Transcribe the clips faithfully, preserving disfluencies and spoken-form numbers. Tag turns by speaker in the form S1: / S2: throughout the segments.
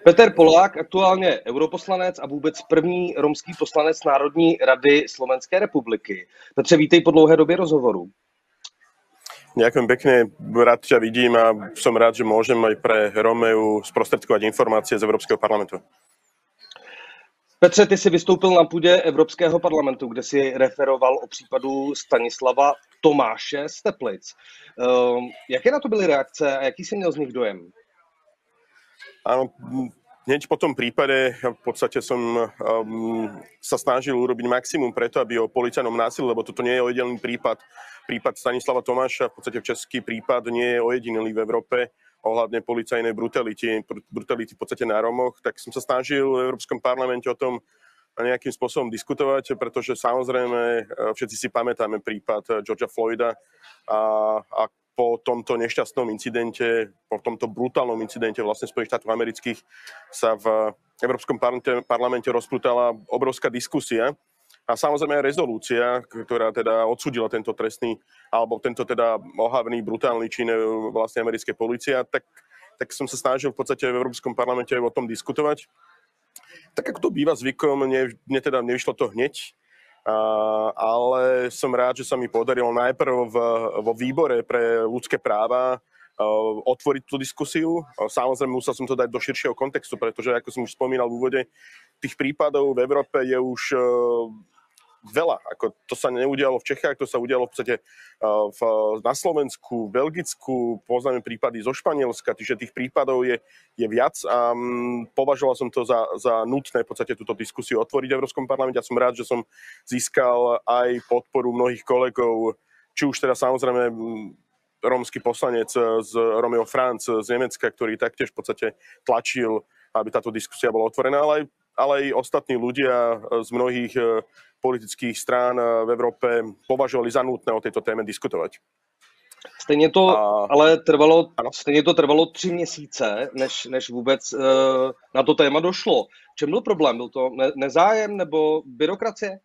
S1: Peter Polák, aktuálně europoslanec a vůbec první romský poslanec Národní rady Slovenské republiky. Petře, vítej po dlouhé době rozhovoru.
S2: Ďakujem pekne, rád ťa vidím a som rád, že môžem aj pre Romeu sprostredkovať informácie z Európskeho parlamentu.
S1: Petře, ty jsi vystoupil na půdě Evropského parlamentu, kde si referoval o případu Stanislava Tomáše z Teplic. Um, jaké na to byly reakce a jaký jsi měl z nich dojem?
S2: Áno, hneď po tom prípade v podstate som um, sa snažil urobiť maximum preto, aby o policajnom násilí, lebo toto nie je ojedinelý prípad, prípad Stanislava Tomáša, v podstate český prípad nie je ojedinelý v Európe ohľadne policajnej brutality, brutality v podstate na Romoch, tak som sa snažil v Európskom parlamente o tom nejakým spôsobom diskutovať, pretože samozrejme všetci si pamätáme prípad Georgea Floyda a, a po tomto nešťastnom incidente, po tomto brutálnom incidente vlastne Spojených štátov amerických sa v Európskom parlamente rozplutala obrovská diskusia a samozrejme aj rezolúcia, ktorá teda odsúdila tento trestný alebo tento teda ohavný, brutálny čin vlastne americkej polície, tak, tak som sa snažil v podstate v Európskom parlamente o tom diskutovať. Tak ako to býva zvykom, mne, mne teda nevyšlo to hneď, Uh, ale som rád, že sa mi podarilo najprv v, vo výbore pre ľudské práva uh, otvoriť tú diskusiu. Uh, samozrejme musel som to dať do širšieho kontextu, pretože ako som už spomínal v úvode, tých prípadov v Európe je už uh, veľa. Ako to sa neudialo v Čechách, to sa udialo v podstate uh, v, na Slovensku, v Belgicku, poznáme prípady zo Španielska, čiže tých prípadov je, je viac a um, považoval som to za, za nutné v podstate túto diskusiu otvoriť v Európskom parlamente a som rád, že som získal aj podporu mnohých kolegov, či už teda samozrejme rómsky poslanec z Romeo Franz z Nemecka, ktorý taktiež v podstate tlačil, aby táto diskusia bola otvorená, ale aj, ale aj ostatní ľudia z mnohých politických strán v Európe považovali za nutné o tejto téme diskutovať.
S1: Stejně to a... ale trvalo, stejně to trvalo tři měsíce, než, než vůbec uh, na to téma došlo. Čem byl problém? Byl to ne- nezájem nebo byrokracie?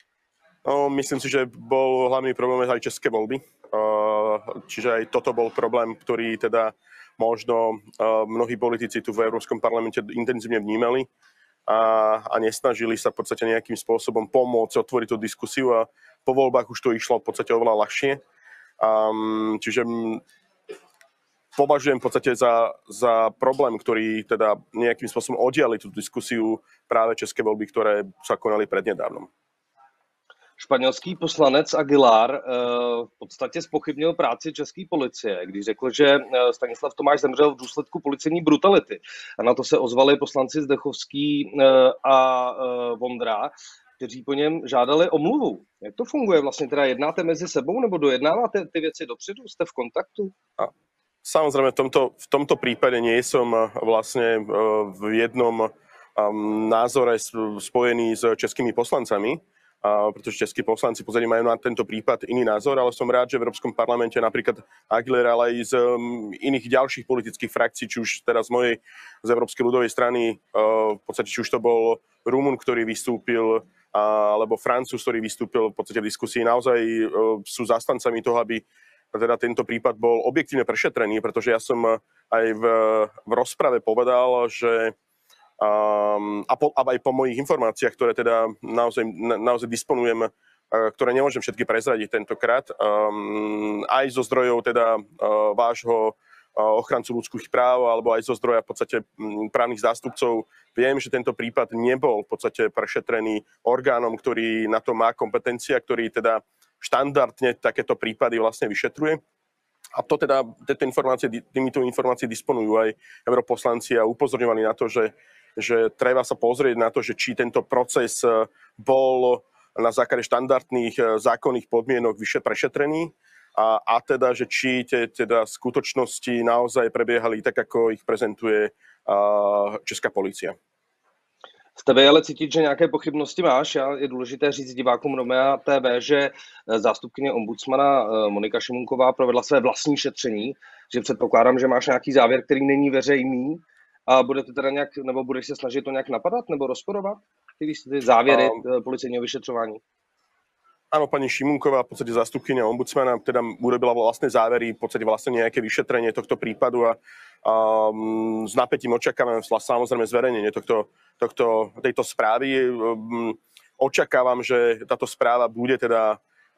S2: No, myslím si, že bol hlavný problém aj české voľby. Uh, čiže aj toto bol problém, ktorý teda možno uh, mnohí politici tu v Európskom parlamente intenzívne vnímali. A, a nesnažili sa v podstate nejakým spôsobom pomôcť otvoriť tú diskusiu a po voľbách už to išlo v podstate oveľa ľahšie. Um, čiže m, považujem v podstate za, za problém, ktorý teda nejakým spôsobom oddiali tú diskusiu práve české voľby, ktoré sa konali prednedávnom.
S1: Španělský poslanec Aguilar v podstatě zpochybnil práci české policie, když řekl, že Stanislav Tomáš zemřel v důsledku policejní brutality. A na to se ozvali poslanci Zdechovský a Vondra, kteří po něm žádali omluvu. Jak to funguje vlastně? Teda jednáte mezi sebou nebo dojednáváte ty věci dopředu? Jste v kontaktu?
S2: A samozrejme, v tomto, v tomto prípade nie som vlastne v jednom názore spojený s českými poslancami, Uh, pretože českí poslanci pozadí majú na tento prípad iný názor, ale som rád, že v Európskom parlamente napríklad Aguilera, ale aj z um, iných ďalších politických frakcií, či už teraz z mojej, z Európskej ľudovej strany, uh, v podstate či už to bol Rumun, ktorý vystúpil, uh, alebo Francúz, ktorý vystúpil v podstate v diskusii, naozaj uh, sú zastancami toho, aby teda tento prípad bol objektívne prešetrený, pretože ja som aj v, v rozprave povedal, že Um, a, po, a aj po mojich informáciách, ktoré teda naozaj, na, naozaj disponujem, uh, ktoré nemôžem všetky prezradiť tentokrát, um, aj zo zdrojov teda uh, vášho uh, ochrancu ľudských práv, alebo aj zo zdroja v podstate um, právnych zástupcov, viem, že tento prípad nebol v podstate prešetrený orgánom, ktorý na to má kompetencia, ktorý teda štandardne takéto prípady vlastne vyšetruje. A to teda, tieto informácie, týmito informácie disponujú aj europoslanci a upozorňovali na to, že že treba sa pozrieť na to, že či tento proces bol na základe štandardných zákonných podmienok vyše prešetrený a, a teda, že či tie teda skutočnosti naozaj prebiehali tak, ako ich prezentuje uh, česká polícia.
S1: Z tebe ale cítit, že nějaké pochybnosti máš. Je důležité říct divákům Romea T V, že zástupkyně ombudsmana Monika Šimunková provedla své vlastní šetření, že předpokládám, že máš nějaký závěr, který není veřejný. A budete teda nějak, nebo budeš se snažit to nějak napadat nebo rozporovat? Ty, ty závěry um, policejního vyšetřování?
S2: Áno, pani Šimunková, v podstate zástupkyňa ombudsmana, teda urobila vlastné závery, v podstate vlastne nejaké vyšetrenie tohto prípadu a, a s napätím očakávam samozrejme zverejnenie tohto, tohto, tejto správy. Očakávam, že táto správa bude teda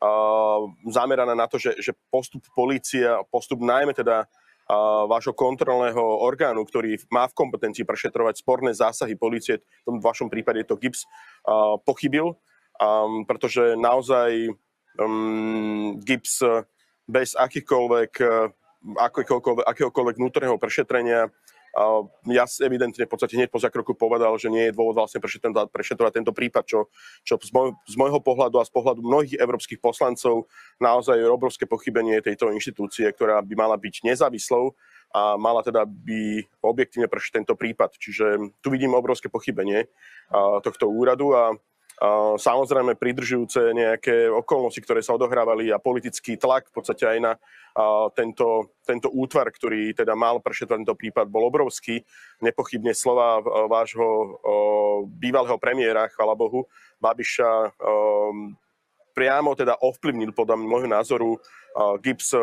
S2: zameraná na to, že, že postup polície, postup najmä teda vášho kontrolného orgánu, ktorý má v kompetencii prešetrovať sporné zásahy polície, v tom vašom prípade je to GIBS, pochybil. Um, pretože naozaj um, GIBS bez akýchkoľvek, akýkoľvek, akéhokoľvek vnútorného prešetrenia uh, ja evidentne v podstate hneď po zákroku povedal, že nie je dôvod vlastne prešetrovať, prešetrovať tento prípad, čo, čo z, môj, z môjho pohľadu a z pohľadu mnohých európskych poslancov naozaj je obrovské pochybenie tejto inštitúcie, ktorá by mala byť nezávislou a mala teda by objektívne prešetriť tento prípad. Čiže tu vidím obrovské pochybenie uh, tohto úradu a Uh, samozrejme pridržujúce nejaké okolnosti, ktoré sa odohrávali a politický tlak v podstate aj na uh, tento, tento útvar, ktorý teda mal prešetrovať tento prípad, bol obrovský. Nepochybne slova uh, vášho uh, bývalého premiéra, chvála Bohu, Babiša, uh, priamo teda ovplyvnil podľa môjho názoru uh, GIBS,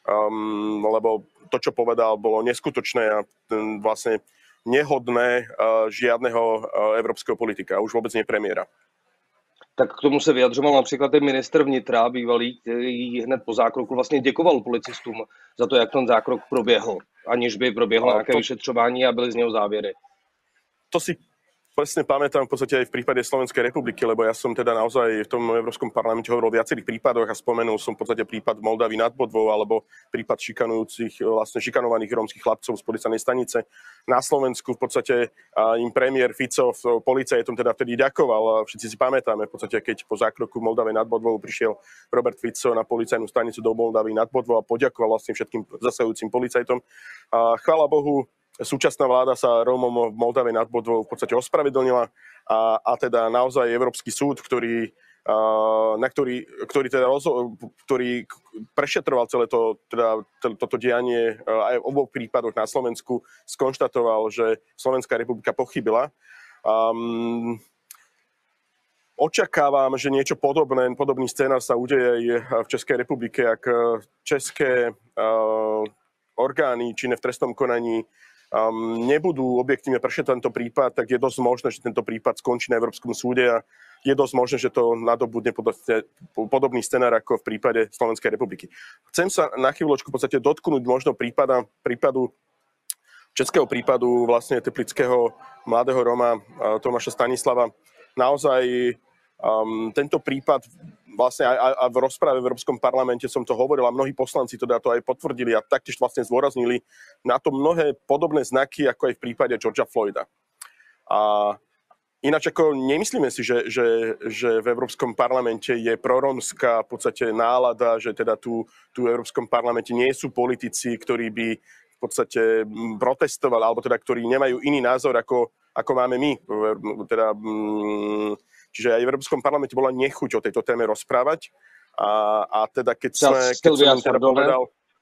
S2: um, lebo to, čo povedal, bolo neskutočné a um, vlastne nehodné uh, žiadneho uh, európskeho politika, už vôbec nie premiéra.
S1: Tak k tomu se vyjadřoval například i ministr vnitra bývalý, který hned po zákroku vlastně děkoval policistům za to, jak ten zákrok proběhl, aniž by proběhlo nějaké to... vyšetřování a byly z něho závěry.
S2: To si presne pamätám v podstate aj v prípade Slovenskej republiky, lebo ja som teda naozaj v tom Európskom parlamente hovoril o viacerých prípadoch a spomenul som v podstate prípad Moldavy nad Bodvou alebo prípad šikanujúcich, vlastne šikanovaných rómskych chlapcov z policajnej stanice. Na Slovensku v podstate im premiér Fico policajtom teda vtedy ďakoval. Všetci si pamätáme v podstate, keď po zákroku v Moldave nad Bodvou prišiel Robert Fico na policajnú stanicu do Moldavy nad Bodvou a poďakoval vlastne všetkým zasahujúcim policajtom. A chvála Bohu, súčasná vláda sa Rómom v Moldave nad Bodvou v podstate ospravedlnila a, a teda naozaj Európsky súd, ktorý, a, na ktorý, ktorý, teda rozho- ktorý prešetroval celé to, teda, toto dianie aj v oboch prípadoch na Slovensku, skonštatoval, že Slovenská republika pochybila. Um, Očakávam, že niečo podobné, podobný scénar sa udeje aj v Českej republike, ak české uh, orgány činné v trestnom konaní Um, nebudú objektívne prešetrovať tento prípad, tak je dosť možné, že tento prípad skončí na Európskom súde a je dosť možné, že to nadobudne podobný scenár ako v prípade Slovenskej republiky. Chcem sa na chvíľočku v podstate dotknúť možno prípada, prípadu, českého prípadu vlastne teplického mladého Roma Tomáša Stanislava. Naozaj um, tento prípad vlastne aj, aj v rozprave v Európskom parlamente som to hovoril a mnohí poslanci teda to aj potvrdili a taktiež vlastne zdôraznili na to mnohé podobné znaky, ako aj v prípade Georgea Floyda. A ináč ako nemyslíme si, že, že, že v Európskom parlamente je prorómska v podstate nálada, že teda tu, tu v Európskom parlamente nie sú politici, ktorí by v podstate protestovali, alebo teda ktorí nemajú iný názor, ako, ako máme my. Teda, čiže aj v Európskom parlamente bola nechuť o tejto téme rozprávať. A, a teda keď, sme, keď som im teda povedal,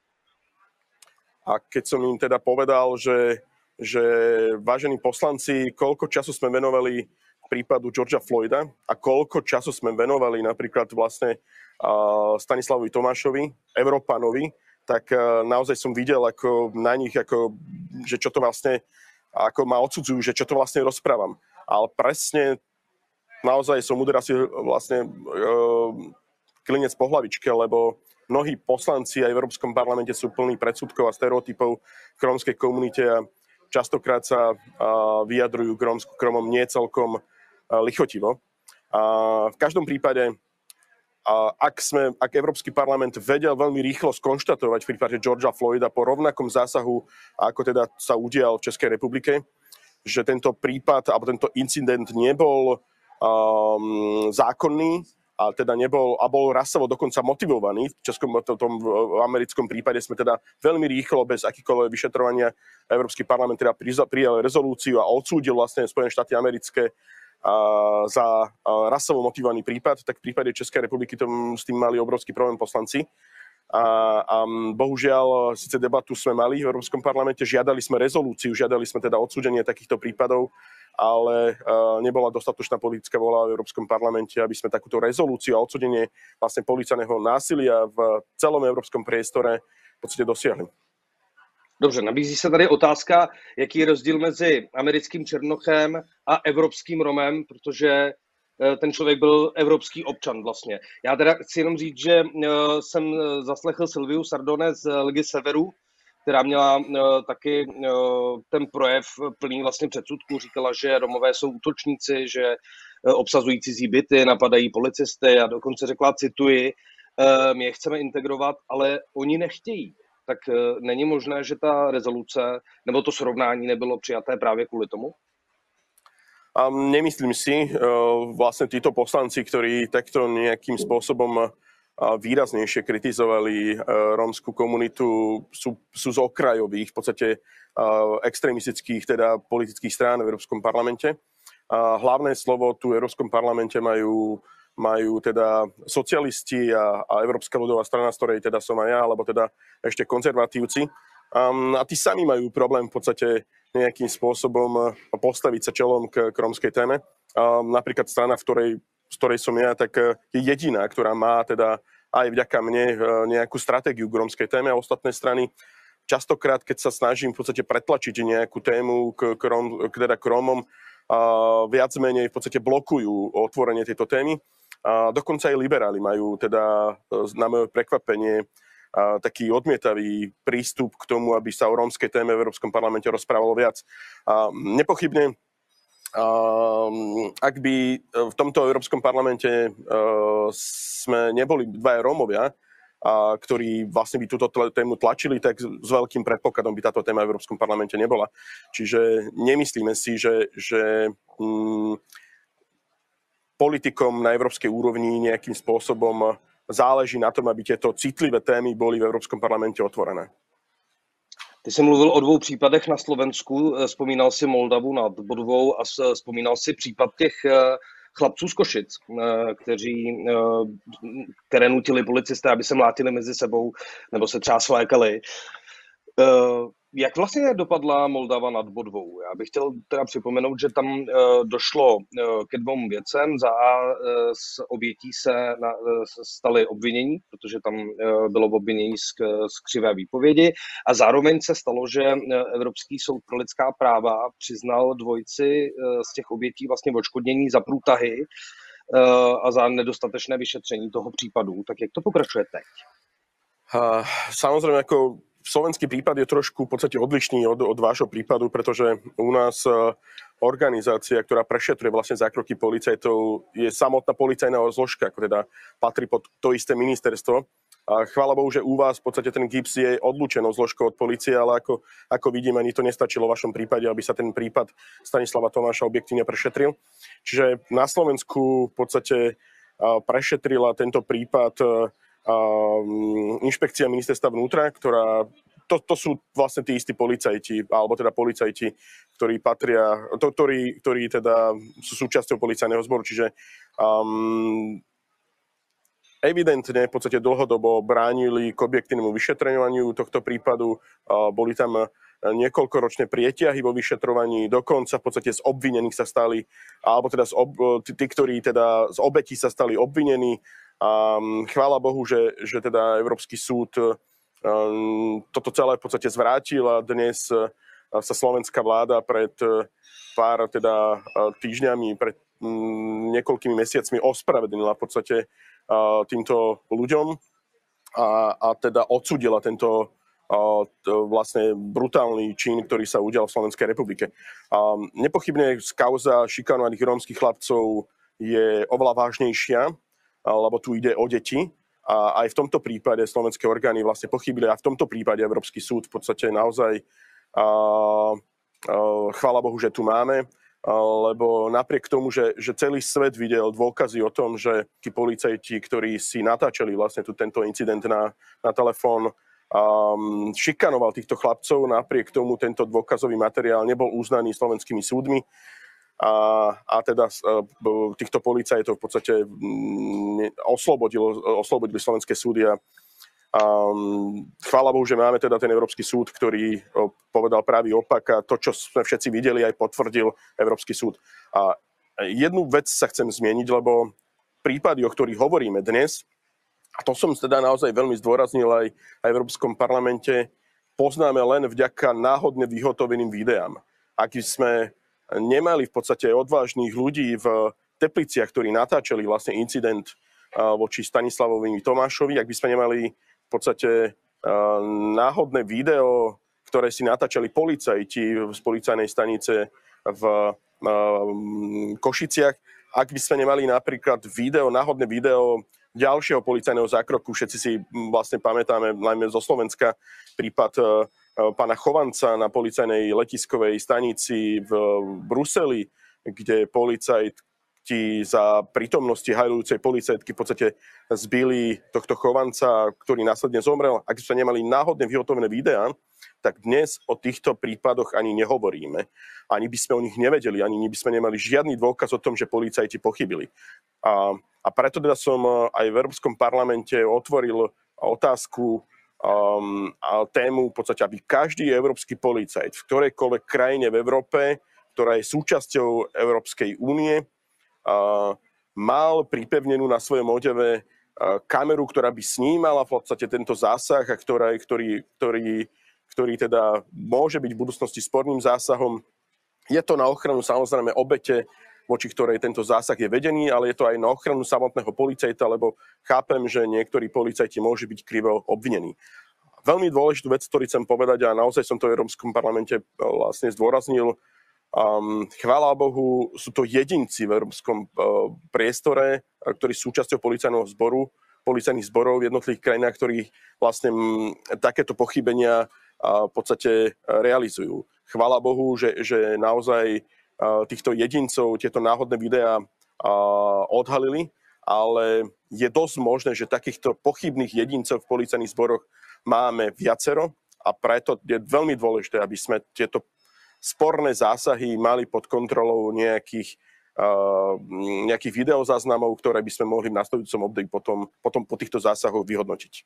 S2: a keď som im teda povedal, že, že vážení poslanci, koľko času sme venovali prípadu Georgea Floyda a koľko času sme venovali napríklad vlastne uh, Stanislavovi Tomášovi, Európanovi, tak uh, naozaj som videl ako na nich, ako, že čo to vlastne, ako ma odsudzujú, že čo to vlastne rozprávam. Ale presne naozaj som uderal si vlastne uh, klinec po hlavičke, lebo mnohí poslanci aj v Európskom parlamente sú plní predsudkov a stereotypov v rómskej komunite a častokrát sa uh, vyjadrujú k Rómom nie celkom uh, lichotivo. Uh, v každom prípade, uh, ak, sme, ak Európsky parlament vedel veľmi rýchlo skonštatovať v prípade Georgea Floyda po rovnakom zásahu, ako teda sa udial v Českej republike, že tento prípad alebo tento incident nebol um, zákonný, a teda nebol, a bol rasovo dokonca motivovaný. V českom, tom v americkom prípade sme teda veľmi rýchlo, bez akýkoľvek vyšetrovania, Európsky parlament teda prijal rezolúciu a odsúdil vlastne Spojené štáty americké a, za a, rasovo motivovaný prípad, tak v prípade Českej republiky tom, s tým mali obrovský problém poslanci. A, a bohužiaľ, síce debatu sme mali v Európskom parlamente, žiadali sme rezolúciu, žiadali sme teda odsúdenie takýchto prípadov ale nebola dostatočná politická vôľa v Európskom parlamente, aby sme takúto rezolúciu a odsúdenie vlastne policajného násilia v celom európskom priestore v podstate dosiahli.
S1: Dobře, nabízí se tady otázka, jaký je rozdíl mezi americkým černochem a evropským Romem, protože ten člověk byl evropský občan vlastně. Já teda chci jenom říct, že jsem zaslechl Silviu Sardone z Ligy Severu, která měla taky ten projev plný vlastně předsudků. Říkala, že Romové jsou útočníci, že obsazují cizí byty, napadají policisty a dokonce řekla, cituji, my je chceme integrovat, ale oni nechtějí. Tak není možné, že ta rezoluce nebo to srovnání nebylo přijaté právě kvůli tomu?
S2: A nemyslím si, vlastne títo poslanci, ktorí takto nejakým spôsobom výraznejšie kritizovali rómsku komunitu, sú, sú z okrajových, v podstate extrémistických, teda politických strán v Európskom parlamente. A hlavné slovo tu v Európskom parlamente majú, majú teda socialisti a, a Európska ľudová strana, z ktorej teda som aj ja, alebo teda ešte konzervatívci. Um, a tí sami majú problém v podstate nejakým spôsobom postaviť sa čelom k, k rómskej téme. Um, napríklad strana, v ktorej, z ktorej som ja, tak je jediná, ktorá má teda aj vďaka mne nejakú stratégiu k rómskej téme, a ostatné strany častokrát, keď sa snažím v podstate pretlačiť nejakú tému k, k, Róm, k, teda k Rómom, uh, viac menej v podstate blokujú otvorenie tejto témy. Uh, dokonca aj liberáli majú teda na moje prekvapenie a taký odmietavý prístup k tomu, aby sa o rómskej téme v Európskom parlamente rozprávalo viac. A nepochybne, a, ak by v tomto Európskom parlamente a, sme neboli dvaja Rómovia, a, ktorí vlastne by túto tému tlačili, tak s veľkým predpokladom by táto téma v Európskom parlamente nebola. Čiže nemyslíme si, že, že mm, politikom na európskej úrovni nejakým spôsobom záleží na tom, aby tieto citlivé témy boli v Európskom parlamente otvorené.
S1: Ty jsi mluvil o dvou případech na Slovensku, vzpomínal si Moldavu nad Bodvou a vzpomínal si případ těch chlapců z Košic, kteří, které nutili policisté, aby se mlátili mezi sebou nebo se třeba slékali. Jak vlastně dopadla Moldava nad Bodvou? Já bych chtěl teda připomenout, že tam uh, došlo uh, ke dvou věcem. Za A uh, z obětí se na, uh, staly obvinění, protože tam uh, bylo obvinění z, z křivé výpovědi, a zároveň se stalo, že uh, Evropský soud pro lidská práva přiznal dvojici uh, z těch obětí vlastně odškodnění za průtahy uh, a za nedostatečné vyšetření toho případu. Tak jak to pokračuje teď?
S2: Uh, samozrejme, ako slovenský prípad je trošku v podstate odlišný od, od vášho prípadu, pretože u nás organizácia, ktorá prešetruje vlastne zákroky policajtov, je samotná policajná zložka, ako teda patrí pod to isté ministerstvo. A chvála Bohu, že u vás v podstate ten GIBS je odlúčenou zložkou od polície, ale ako, ako vidím, ani to nestačilo v vašom prípade, aby sa ten prípad Stanislava Tomáša objektívne prešetril. Čiže na Slovensku v podstate prešetrila tento prípad inšpekcia ministerstva vnútra, ktorá, to, to sú vlastne tí istí policajti, alebo teda policajti, ktorí patria, to, ktorí, ktorí teda sú súčasťou policajného zboru, čiže um, evidentne v podstate dlhodobo bránili k objektívnemu vyšetrovaniu tohto prípadu, uh, boli tam niekoľkoročné prieťahy vo vyšetrovaní, dokonca v podstate z obvinených sa stali, alebo teda z ob, tí, tí, ktorí teda z obetí sa stali obvinení. A chvála Bohu, že, že teda Európsky súd um, toto celé v podstate zvrátil a dnes uh, sa slovenská vláda pred uh, pár teda uh, týždňami, pred um, niekoľkými mesiacmi ospravedlnila v podstate uh, týmto ľuďom a, a teda odsúdila tento uh, vlastne brutálny čin, ktorý sa udial v Slovenskej republike. Um, nepochybne kauza šikanovaných rómskych chlapcov je oveľa vážnejšia, lebo tu ide o deti. A aj v tomto prípade slovenské orgány vlastne pochybili a v tomto prípade Európsky súd v podstate naozaj a, a, chvála Bohu, že tu máme, a, lebo napriek tomu, že, že celý svet videl dôkazy o tom, že tí policajti, ktorí si natáčali vlastne tu tento incident na, na telefón, um, šikanoval týchto chlapcov, napriek tomu tento dôkazový materiál nebol uznaný slovenskými súdmi. A, a teda uh, týchto policajtov v podstate um, oslobodilo, oslobodili slovenské súdy a um, chvála Bohu, že máme teda ten Európsky súd, ktorý uh, povedal pravý opak a to, čo sme všetci videli, aj potvrdil Európsky súd. A jednu vec sa chcem zmieniť, lebo prípady, o ktorých hovoríme dnes, a to som teda naozaj veľmi zdôraznil aj, aj v Európskom parlamente, poznáme len vďaka náhodne vyhotoveným videám. Ak sme nemali v podstate odvážnych ľudí v Tepliciach, ktorí natáčali vlastne incident voči Stanislavovi Tomášovi, ak by sme nemali v podstate náhodné video, ktoré si natáčali policajti z policajnej stanice v Košiciach, ak by sme nemali napríklad video, náhodné video ďalšieho policajného zákroku, všetci si vlastne pamätáme, najmä zo Slovenska, prípad pána Chovanca na policajnej letiskovej stanici v Bruseli, kde policajti za prítomnosti hajlujúcej policajtky v podstate zbili tohto Chovanca, ktorý následne zomrel. Ak by sme nemali náhodne vyhotovené videá, tak dnes o týchto prípadoch ani nehovoríme. Ani by sme o nich nevedeli, ani by sme nemali žiadny dôkaz o tom, že policajti pochybili. A, a preto teda som aj v Európskom parlamente otvoril otázku um, a tému v podstate, aby každý európsky policajt v ktorejkoľvek krajine v Európe, ktorá je súčasťou Európskej únie, uh, mal pripevnenú na svojom odeve uh, kameru, ktorá by snímala v podstate tento zásah a ktorá, ktorý, ktorý ktorý teda môže byť v budúcnosti sporným zásahom. Je to na ochranu samozrejme obete, voči ktorej tento zásah je vedený, ale je to aj na ochranu samotného policajta, lebo chápem, že niektorí policajti môžu byť krivo obvinení. Veľmi dôležitú vec, ktorú chcem povedať, a naozaj som to v Európskom parlamente vlastne zdôraznil, um, chvála Bohu, sú to jedinci v európskom uh, priestore, ktorí sú súčasťou policajného zboru, policajných zborov v jednotlivých krajinách, ktorí vlastne m, takéto pochybenia a v podstate realizujú. Chvála Bohu, že, že naozaj týchto jedincov tieto náhodné videá odhalili, ale je dosť možné, že takýchto pochybných jedincov v policajných zboroch máme viacero a preto je veľmi dôležité, aby sme tieto sporné zásahy mali pod kontrolou nejakých, nejakých videozáznamov, ktoré by sme mohli v nasledujúcom období potom, potom po týchto zásahoch vyhodnotiť.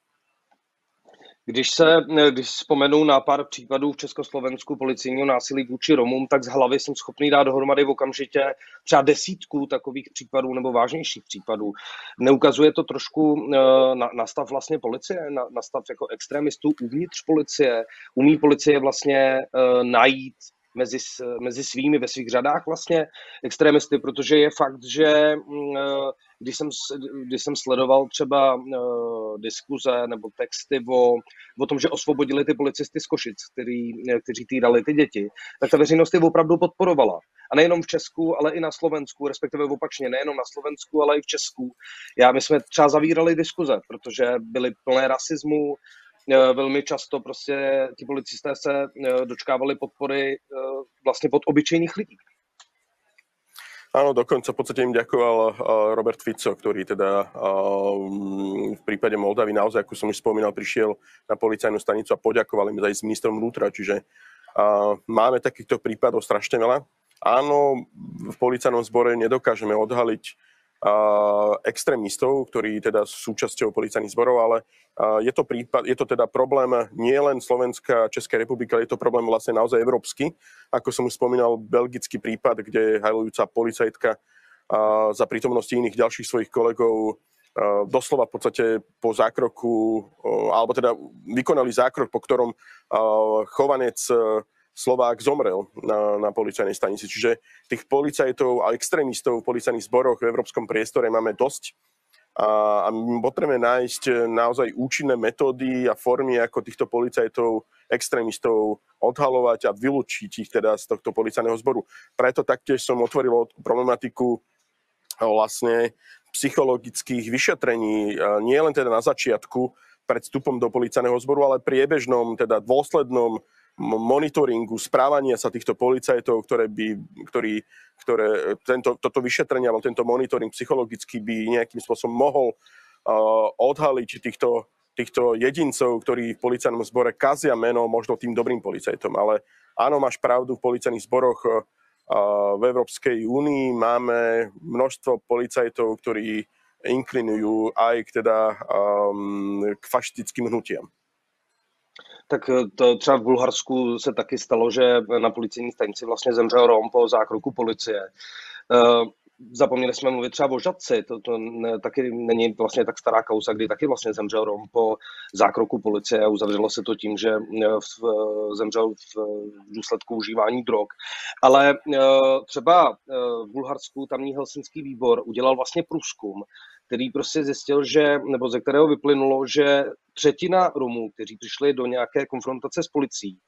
S1: Když se, když vzpomenu na pár případů v Československu policijního násilí vůči Romům, tak z hlavy jsem schopný dát dohromady v okamžitě třeba desítku takových případů nebo vážnějších případů. Neukazuje to trošku na, na stav vlastně policie, na, na stav jako extremistů uvnitř policie? Umí policie vlastně uh, najít mezi, mezi svými, ve svých řadách vlastně extremisty, protože je fakt, že uh, Když jsem, když jsem sledoval třeba uh, diskuze nebo texty o, o tom, že osvobodili ty policisty z Košic, který, kteří týrali ty děti, tak ta veřejnost je opravdu podporovala. A nejenom v Česku, ale i na Slovensku, respektive opačně, nejenom na Slovensku, ale i v Česku. Já, my jsme třeba zavírali diskuze, protože byly plné rasismu, velmi často prostě ti policisté se dočkávali podpory vlastně od obyčejných lidí.
S2: Áno, dokonca v podstate im ďakoval Robert Fico, ktorý teda v prípade Moldavy naozaj, ako som už spomínal, prišiel na policajnú stanicu a poďakoval im aj s ministrom vnútra. Čiže máme takýchto prípadov strašne veľa. Áno, v policajnom zbore nedokážeme odhaliť extrémistov, ktorí teda sú súčasťou policajných zborov, ale je to, prípad, je to teda problém nie len Slovenska a Českej republiky, ale je to problém vlastne naozaj európsky. Ako som už spomínal, belgický prípad, kde hajlujúca policajtka za prítomnosti iných ďalších svojich kolegov doslova v podstate po zákroku, alebo teda vykonali zákrok, po ktorom Chovanec Slovák zomrel na, na policajnej stanici. Čiže tých policajtov a extrémistov v policajných zboroch v európskom priestore máme dosť. A, a my potrebujeme nájsť naozaj účinné metódy a formy, ako týchto policajtov, extrémistov odhalovať a vylúčiť ich teda z tohto policajného zboru. Preto taktiež som otvoril problematiku vlastne psychologických vyšetrení, nie len teda na začiatku pred vstupom do policajného zboru, ale priebežnom, teda dôslednom monitoringu správania sa týchto policajtov, ktoré by, ktorý, ktoré tento, toto vyšetrenie alebo tento monitoring psychologicky by nejakým spôsobom mohol uh, odhaliť týchto, týchto jedincov, ktorí v policajnom zbore kazia meno možno tým dobrým policajtom. Ale áno, máš pravdu, v policajných zboroch uh, v Európskej únii máme množstvo policajtov, ktorí inklinujú aj k, teda, um, k fašistickým hnutiam.
S1: Tak to třeba v Bulharsku se taky stalo, že na policejní stanici vlastně zemřel Rom po zákroku policie. Zapomněli jsme mluvit třeba o Žatci, to, to ne, taky není vlastně tak stará kauza, kdy taky vlastně zemřel Rom po zákroku policie a uzavřelo se to tím, že v, zemřel v důsledku užívání drog. Ale třeba v Bulharsku tamní helsinský výbor udělal vlastně průzkum, který prostě zjistil, že, nebo ze kterého vyplynulo, že třetina Romů, kteří přišli do nějaké konfrontace s policií,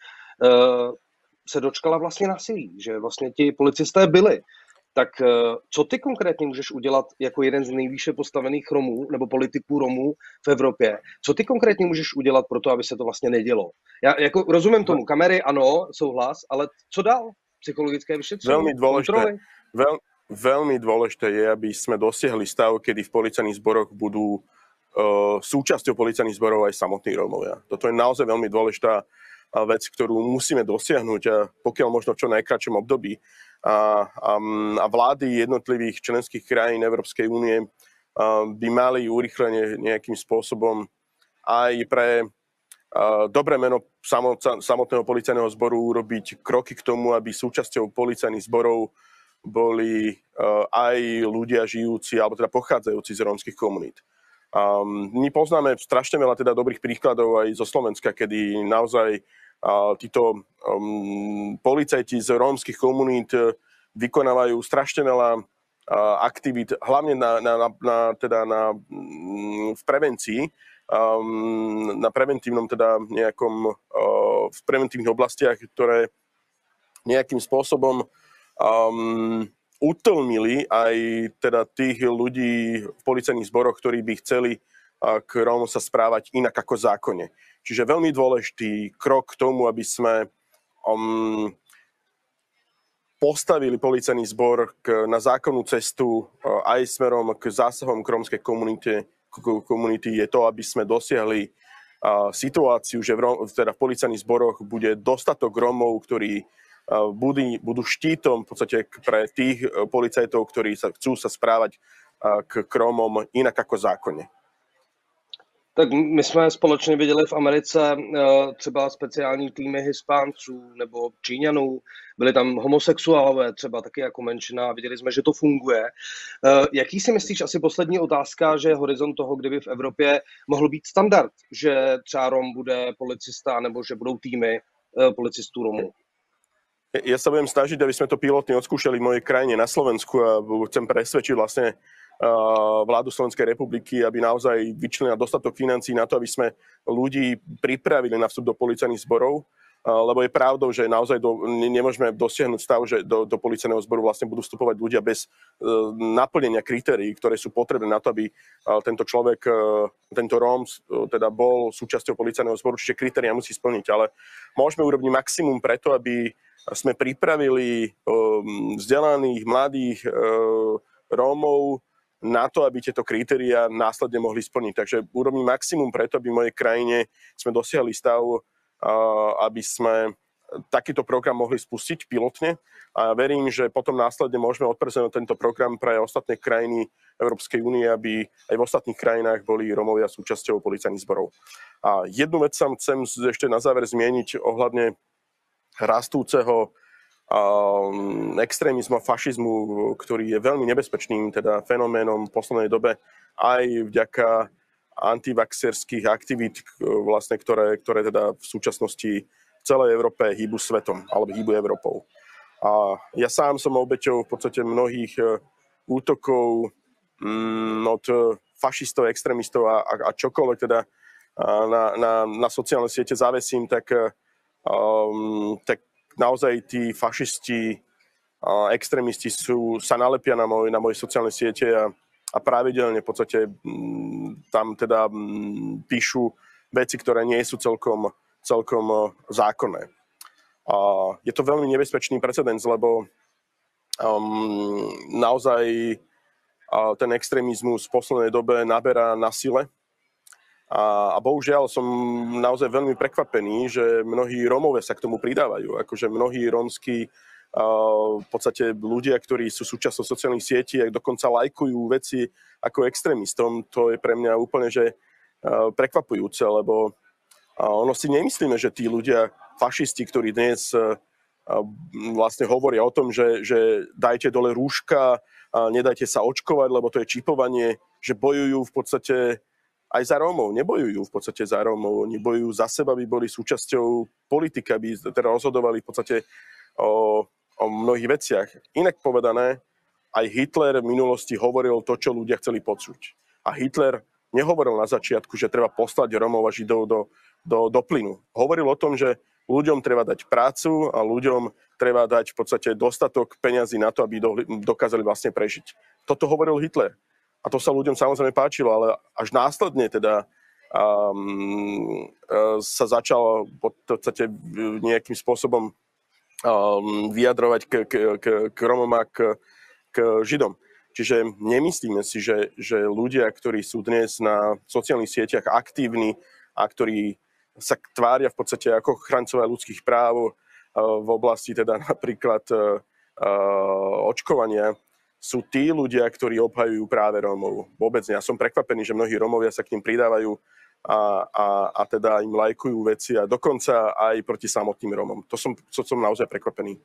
S1: se dočkala vlastně násilí, že vlastně ti policisté byli. Tak co ty konkrétně můžeš udělat jako jeden z nejvýše postavených Romů nebo politiků Romů v Evropě? Co ty konkrétně můžeš udělat pro to, aby se to vlastně nedělo? Já jako rozumím tomu, kamery ano, souhlas, ale co dál? Psychologické vyšetření,
S2: Veľmi dôležité,
S1: kontroly?
S2: veľ, veľmi dôležité je, aby sme dosiahli stav, kedy v policajných zboroch budú uh, súčasťou policajných zborov aj samotní Rómovia. Toto je naozaj veľmi dôležitá vec, ktorú musíme dosiahnuť a pokiaľ možno v čo najkratšom období. A, a, a vlády jednotlivých členských krajín Európskej únie by mali urýchlene nejakým spôsobom aj pre dobré meno samotného policajného zboru urobiť kroky k tomu, aby súčasťou policajných zborov boli aj ľudia žijúci, alebo teda pochádzajúci z rómskych komunít. My poznáme strašne veľa teda dobrých príkladov aj zo Slovenska, kedy naozaj a títo um, policajti z rómskych komunít vykonávajú strašne veľa uh, aktivít, hlavne na, na, na, na, teda na, um, v prevencii, um, na preventívnom teda nejakom, uh, v preventívnych oblastiach, ktoré nejakým spôsobom um, utlmili aj teda tých ľudí v policajných zboroch, ktorí by chceli uh, k Rómom sa správať inak ako zákonne. Čiže veľmi dôležitý krok k tomu, aby sme um, postavili policajný zbor k, na zákonnú cestu uh, aj smerom k zásahom k rómskej komunite, komunity, je to, aby sme dosiahli uh, situáciu, že v, teda v policajných zboroch bude dostatok Rómov, ktorí uh, budú, budú štítom v podstate pre tých uh, policajtov, ktorí sa, chcú sa správať uh, k, k Rómom inak ako zákonne.
S1: Tak my jsme společně viděli v Americe třeba speciální týmy Hispánců nebo Číňanů, byli tam homosexuálové třeba taky jako menšina a viděli jsme, že to funguje. Jaký si myslíš, asi poslední otázka, že je horizont toho, kdyby v Evropě mohl být standard, že třeba Rom bude policista nebo že budou týmy policistů Romů?
S2: Ja sa budem snažiť, aby sme to pilotne odskúšali v mojej krajine na Slovensku a chcem presvedčiť vlastne vládu Slovenskej republiky, aby naozaj vyčlenila dostatok financií na to, aby sme ľudí pripravili na vstup do policajných zborov, lebo je pravdou, že naozaj do, nemôžeme dosiahnuť stav, že do, do policajného zboru vlastne budú vstupovať ľudia bez uh, naplnenia kritérií, ktoré sú potrebné na to, aby uh, tento človek, uh, tento Róm uh, teda bol súčasťou policajného zboru, čiže kritéria musí splniť. Ale môžeme urobiť maximum preto, aby sme pripravili um, vzdelaných, mladých uh, Rómov na to, aby tieto kritériá následne mohli splniť. Takže urobím maximum preto, aby v mojej krajine sme dosiahli stav, aby sme takýto program mohli spustiť pilotne. A verím, že potom následne môžeme odprezentovať tento program pre ostatné krajiny Európskej únie, aby aj v ostatných krajinách boli Rómovia súčasťou policajných zborov. A jednu vec sa chcem ešte na záver zmieniť ohľadne rastúceho Um, extrémizmu a fašizmu, ktorý je veľmi nebezpečným teda fenoménom v poslednej dobe, aj vďaka antivaxerských aktivít, vlastne, ktoré, ktoré teda v súčasnosti v celej Európe hýbu svetom, alebo hýbu Európou. A ja sám som obeťou v podstate mnohých útokov um, od fašistov, extrémistov a, a, a čokoľvek teda na, na, na sociálne siete zavesím, tak, um, tak naozaj tí fašisti a extrémisti sú, sa nalepia na, moj, na moje sociálne siete a, a pravidelne v podstate m, tam teda m, píšu veci, ktoré nie sú celkom, celkom zákonné. A je to veľmi nebezpečný precedens, lebo um, naozaj a ten extrémizmus v poslednej dobe naberá na sile. A, a bohužiaľ som naozaj veľmi prekvapený, že mnohí Rómovia sa k tomu pridávajú. Akože mnohí rómski uh, v podstate ľudia, ktorí sú súčasťou sociálnych sietí a dokonca lajkujú veci ako extrémistom, to je pre mňa úplne že uh, prekvapujúce, lebo A ono si nemyslíme, že tí ľudia, fašisti, ktorí dnes vlastne hovoria o tom, že, že dajte dole rúška, nedajte sa očkovať, lebo to je čipovanie, že bojujú v podstate aj za Rómov. Nebojujú v podstate za Rómov, oni bojujú za seba, aby boli súčasťou politika, aby teda rozhodovali v podstate o, o mnohých veciach. Inak povedané, aj Hitler v minulosti hovoril to, čo ľudia chceli počuť. A Hitler nehovoril na začiatku, že treba poslať Rómov a Židov do, do, do plynu. Hovoril o tom, že ľuďom treba dať prácu a ľuďom treba dať v podstate dostatok peňazí na to, aby do, dokázali vlastne prežiť. Toto hovoril Hitler. A to sa ľuďom samozrejme páčilo, ale až následne teda um, sa začal v podstate nejakým spôsobom um, vyjadrovať k, k, k, k Romom a k, k Židom. Čiže nemyslíme si, že, že ľudia, ktorí sú dnes na sociálnych sieťach aktívni a ktorí sa tvária v podstate ako ochrancovia ľudských práv v oblasti teda napríklad očkovania, sú tí ľudia, ktorí obhajujú práve Rómov. Vôbec nie. Ja som prekvapený, že mnohí Rómovia sa k ním pridávajú a, a, a teda im lajkujú veci a dokonca aj proti samotným Rómom. To som, to som naozaj prekvapený.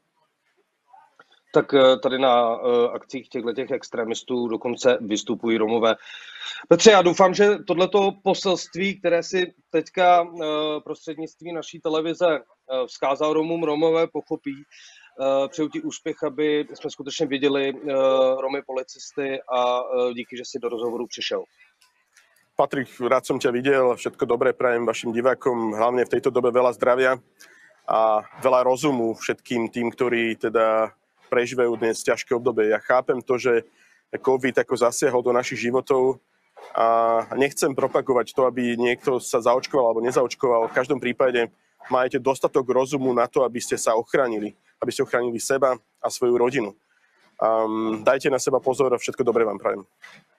S1: Tak tady na akcích těchto extremistů dokonce vystupují Romové. Petře, já doufám, že tohleto poselství, které si teďka prostřednictvím naší televize vzkázal Romům, Romové pochopí. Přeju ti úspěch, aby jsme skutečně viděli Romy policisty a díky, že si do rozhovoru přišel.
S2: Patrik, rád som ťa videl, všetko dobré prajem vašim divákom, hlavne v tejto dobe veľa zdravia a veľa rozumu všetkým tým, ktorí teda prežívajú dnes ťažké obdobie. Ja chápem to, že COVID ako zasiahol do našich životov a nechcem propagovať to, aby niekto sa zaočkoval alebo nezaočkoval. V každom prípade máte dostatok rozumu na to, aby ste sa ochránili, aby ste ochránili seba a svoju rodinu. Um, dajte na seba pozor a všetko dobré vám prajem.